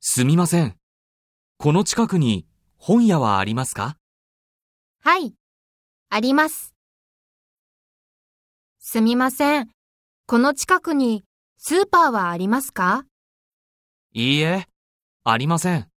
すみません。この近くに本屋はありますか？ はい、あります。すみません。この近くにスーパーはありますか？ いいえ、ありません。